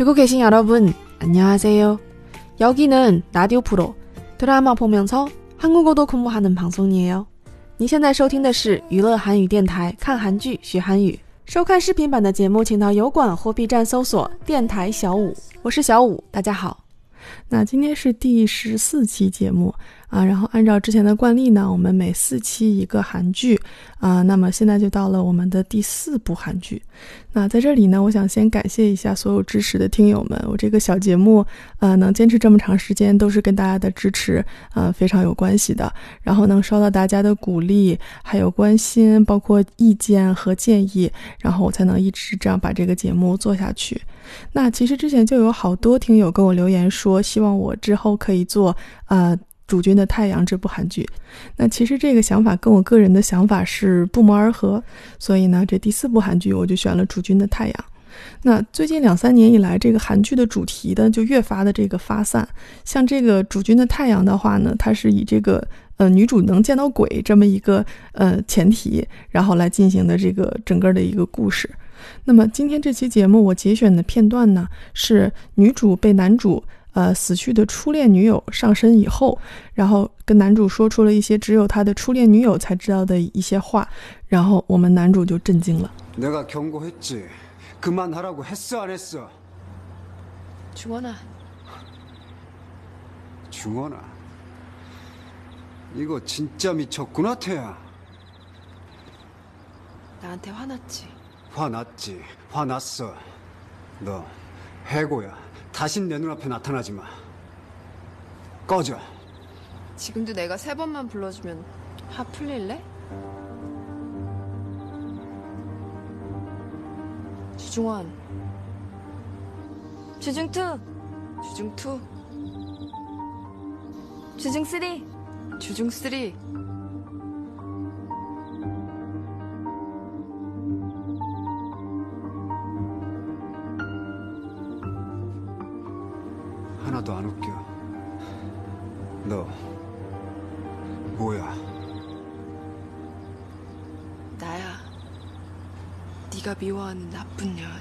듣고 계신 여러분, 안녕하세요. 여기는 라디오 프로 드라마 보면서 한국어도 공부하는 방송이에요. 你现在收听的是娱乐韩语电台，看韩剧学韩语。收看视频版的节目，请到油管或 B 站搜索电台小五，我是小五，大家好。那今天是第14期节目然后按照之前的惯例呢，我们每4期一个韩剧那么现在就到了我们的第4部韩剧。那在这里呢，我想先感谢一下所有支持的听友们，我这个小节目能坚持这么长时间都是跟大家的支持非常有关系的，然后能收到大家的鼓励还有关心，包括意见和建议，然后我才能一直这样把这个节目做下去。那其实之前就有好多听友跟我留言说希望我之后可以做主君的太阳这部韩剧，那其实这个想法跟我个人的想法是不谋而合，所以呢这第4部韩剧我就选了主君的太阳。那最近2-3年以来，这个韩剧的主题呢就越发的这个发散，像这个主君的太阳的话呢，它是以这个女主能见到鬼这么一个前提，然后来进行的这个整个的一个故事。那么今天这期节目我节选的片段呢，是女主被男主死去的初恋女友上身以后，然后跟男主说出了一些只有他的初恋女友才知道的一些话，然后我们男主就震惊了。 내가 경고했지. 그만하라고 했어 안 했어? 중원아. 중원아. 이거 진짜 미쳤구나 태야. 나한테 화났지? 화났지. 화났어. 너 해고야. 다신 내 눈앞에 나타나지 마. 꺼져. 지금도 내가 3번만 불러주면 화 풀릴래? 주중원. 주중2. 주중2. 주중3. 주중3. 하나도 안 웃겨. 너 뭐야? 나야. 네가 미워하는 나쁜 년.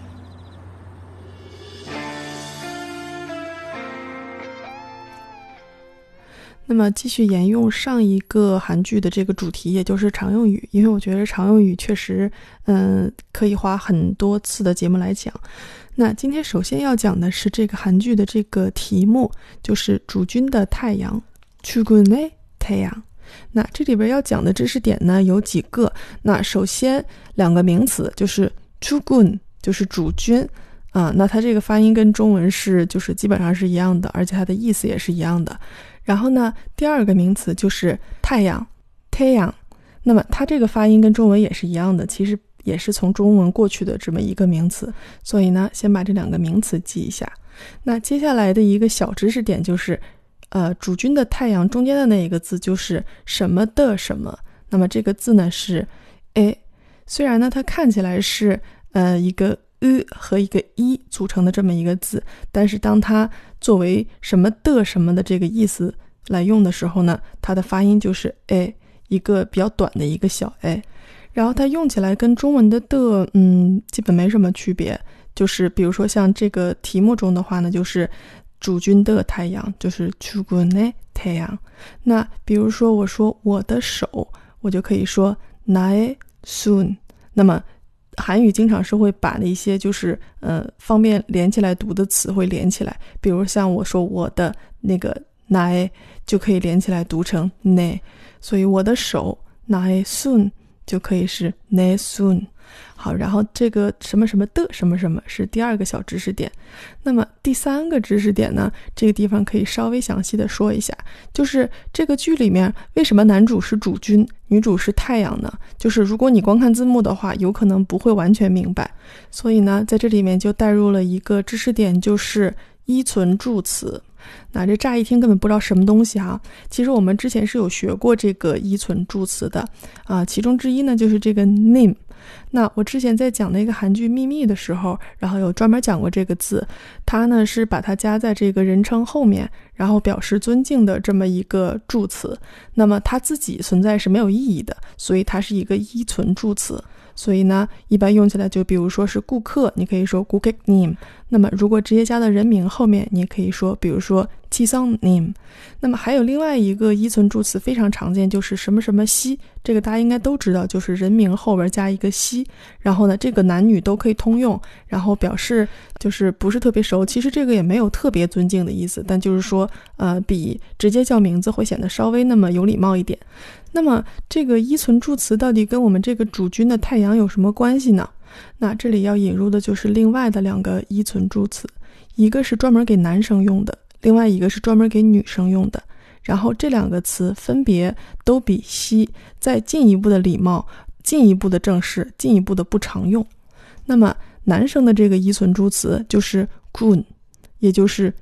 那么继续沿用上一个韩剧的这个主题，也就是常用语，因为我觉得常用语确实可以花很多次的节目来讲。那今天首先要讲的是这个韩剧的这个题目，就是主君的太阳，주군의太阳。那这里边要讲的知识点呢有几个。那首先2个名词，就是주군就是主君那它这个发音跟中文是就是基本上是一样的，而且它的意思也是一样的。然后呢第2个名词就是太阳，太阳，那么它这个发音跟中文也是一样的，其实也是从中文过去的这么一个名词，所以呢先把这2个名词记一下。那接下来的一个小知识点就是主君的太阳中间的那一个字就是什么的什么，那么这个字呢是虽然呢它看起来是一个和一个一组成的这么一个字，但是当它作为什么的什么的这个意思来用的时候呢，它的发音就是一个比较短的一个小然后它用起来跟中文的基本没什么区别，就是比如说像这个题目中的话呢，就是主君的太阳，就是주군의太阳。那比如说我说我的手，我就可以说나의 손。那么韩语经常是会把那些就是方便连起来读的词会连起来，比如像我说我的那个나의就可以连起来读成내，所以我的手나의 손就可以是내 손。好，然后这个什么什么的什么什么是第2个小知识点。那么第3个知识点呢，这个地方可以稍微详细的说一下，就是这个剧里面为什么男主是主君，女主是太阳呢？就是如果你光看字幕的话，有可能不会完全明白，所以呢在这里面就带入了一个知识点，就是依存助词。那这乍一听根本不知道什么东西其实我们之前是有学过这个依存助词的其中之一呢就是这个 님。那我之前在讲那个韩剧秘密的时候，然后有专门讲过这个字，它呢是把它加在这个人称后面，然后表示尊敬的这么一个助词。那么它自己存在是没有意义的，所以它是一个依存助词。 所以呢一般用起来就比如说是顾客，你可以说고객님。那么如果直接加到人名后面，你也可以说比如说지성님。那么还有另外一个依存助词非常常见，就是什么什么西，这个大家应该都知道，就是人名后边加一个西，然后呢这个男女都可以通用，然后表示就是不是特别熟，其实这个也没有特别尊敬的意思，但就是说比直接叫名字会显得稍微那么有礼貌一点。那么这个依存助词到底跟我们这个主君的太阳有什么关系呢？那这里要引入的就是另外的2个依存助词，一个是专门给男生用的，另外一个是专门给女生用的。然后这2个词分别都比西再进一步的礼貌，进一步的正式，进一步的不常用。那么男生的这个依存助词就是군，也就是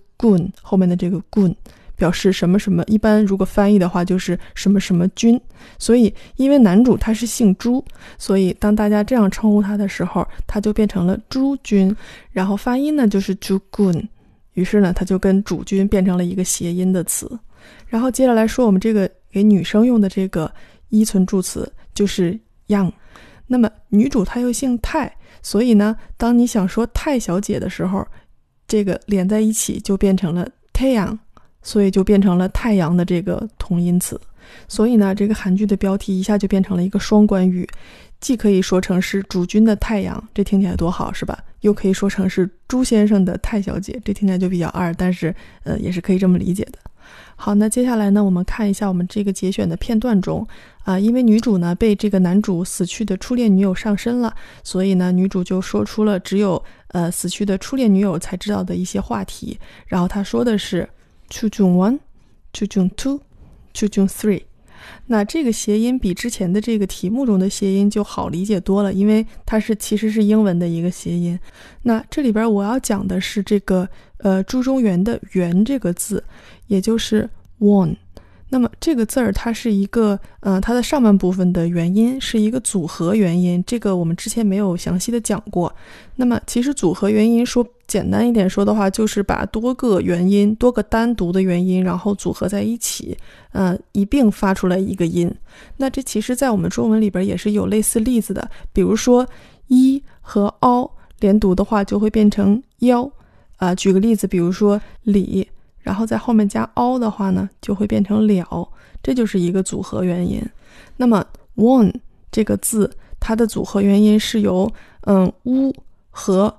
주군后面的这个군，表示什么什么，一般如果翻译的话就是什么什么君。所以因为男主他是姓朱，所以当大家这样称呼他的时候，他就变成了朱君，然后发音呢就是주군，于是呢他就跟主君变成了一个谐音的词。然后接着来说我们这个给女生用的这个依存助词就是양。那么女主她又姓太，所以呢当你想说太小姐的时候，这个连在一起就变成了태양，所以就变成了太阳的这个同音词。所以呢这个韩剧的标题一下就变成了一个双关语，既可以说成是主君的太阳，这听起来多好是吧，又可以说成是朱先生的太小姐，这听起来就比较二，但是也是可以这么理解的。好，那接下来呢我们看一下我们这个节选的片段中因为女主呢被这个男主死去的初恋女友上身了，所以呢女主就说出了只有死去的初恋女友才知道的一些话题。然后她说的是추중1, 추중2, 추중3。那这个谐音比之前的这个题目中的谐音就好理解多了，因为它其实是英文的一个谐音。那这里边我要讲的是这个朱中原的原这个字，也就是 won。那么这个字儿它是一个它的上半部分的元音是一个组合元音，这个我们之前没有详细的讲过。那么其实组合元音说简单一点说的话，就是把多个元音，多个单独的元音然后组合在一起一并发出来一个音。那这其实在我们中文里边也是有类似例子的，比如说一和凹连读的话就会变成腰举个例子，比如说李然后在后面加凹的话呢就会变成了，这就是一个组合元音。那么 won 这个字它的组合元音是由乌和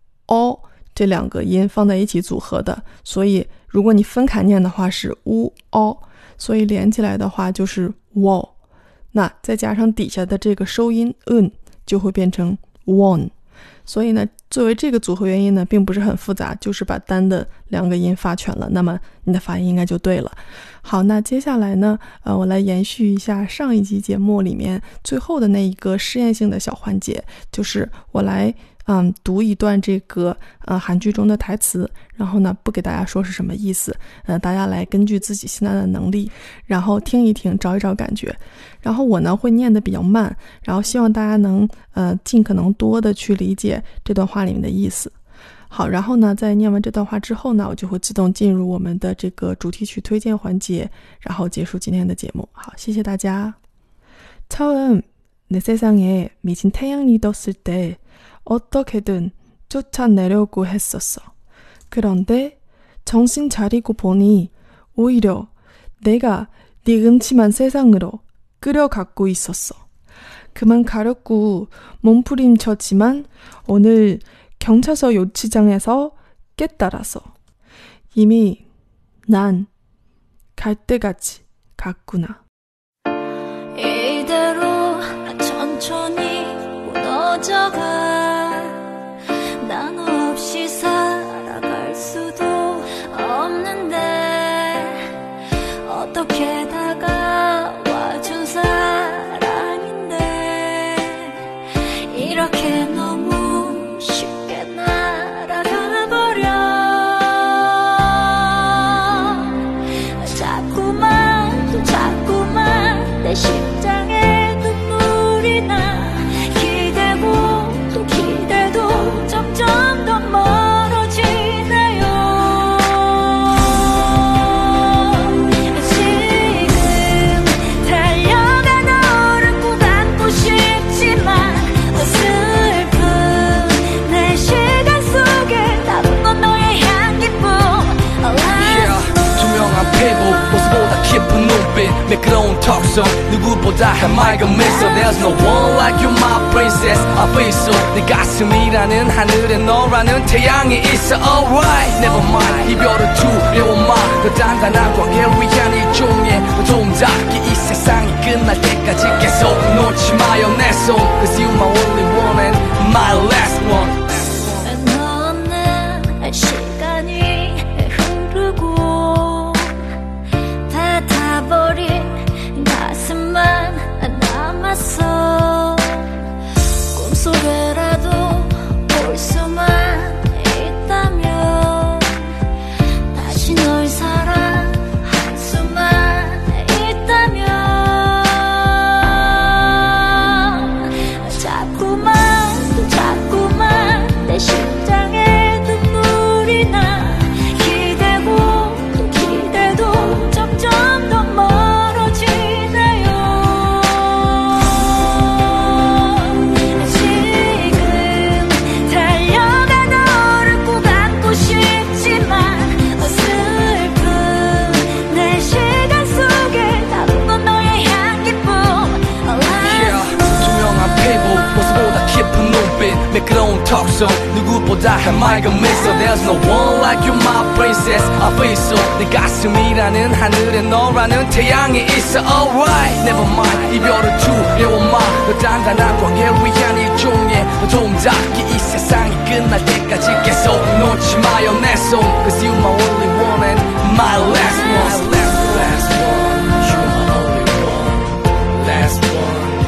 o 这2个音放在一起组合的，所以如果你分开念的话是乌 o， 所以连起来的话就是 wo， 那再加上底下的这个收音就会变成 won。所以呢作为这个组合元音呢并不是很复杂，就是把单的2个音发全了，那么你的发音应该就对了。好，那接下来呢我来延续一下上一集节目里面最后的那一个试验性的小环节，就是我来读一段这个韩剧中的台词，然后呢不给大家说是什么意思，大家来根据自己现在的能力然后听一听找一找感觉。然后我呢会念得比较慢，然后希望大家能尽可能多的去理解这段话里面的意思。好，然后呢在念完这段话之后呢，我就会自动进入我们的这个主题曲推荐环节，然后结束今天的节目。好，谢谢大家。처음 내 세상에 미친 태양이 떴을 때 어떻게든 쫓아내려고 했었어. 그런데 정신 차리고 보니 오히려 내가 네 음침한 세상으로 끌어가고 있었어. 그만 가렵고 몸부림쳤지만 오늘 경찰서 요치장에서 깨달았어. 이미 난 갈 때까지 갔구나. 이대로 천천히 무너져가. 난 없이 살아갈 수도 없는데 어떻게 다가와준 사람인데 이렇게 너무 쉽게 날아가버려. 자꾸만 내 심장에 눈물이 나. 기대고 또 기대도 점점 턱선 누구보다 해맑은 미소 There's no one like you my princess I feel so 내 가슴이라는 하늘에 너라는 태양이 있어 alright Never mind 이별은 두려워 마더 단단한 관계를 위한 일종의 도움닫기 이 세상이 끝날 때까지 계속 놓지 마요 내 손 Cause you my only one and my last one 너는 시간이 흐르고 닫아버린 가슴만 남았어 꿈속에라도 볼 수만 있다면 다시 널 사랑할 수만 있다면 자꾸만 내 심장에 눈물이 나 기대고 또 기대도 점점 더 멀어지네요 지금 달려가 너를 꼭 안고 싶지만 슬픈 내 시간 속에 다른 건 너의 향기뿐 투명한 피부 모습보다 깊은 눈빛 매끄러운 턱선 누구보다 해맑은 미소 There's no one like you my princess I feel so 내 가슴이라는 하늘에 너라는 태양이 있어 alright Never mind 이별은 두려워 마더 단단한 관계를 위한 일종의 도움닫기 이 세상이 끝날 때까지 계속 놓지 마요 내 손 Cause you my only one and my last one Last one You my only one Last one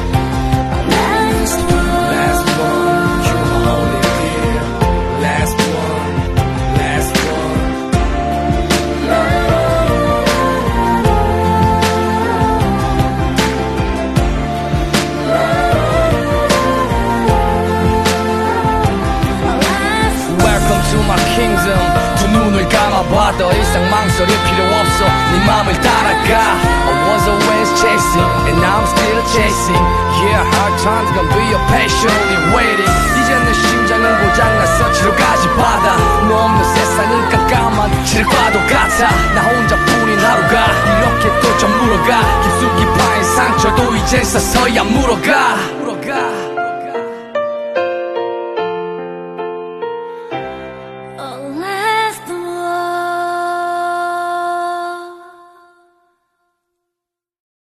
Last one, you my only dear. Last one, last one. Welcome to my kingdom. 두 눈을 감아봐 더 이상 망설일 필요 없어 네 맘을 따라가 I was always chasing and now I'm still chasing Yeah hard times gonna be your patiently waiting 이제 내 심장은 고장났어 치러가지 바다 너 없는 세상은 깜깜한 칠과도 같아 나 혼자뿐인 하루가 이렇게 또 좀 물어가 깊숙이 파인 상처도 이제 서서히 안 물어가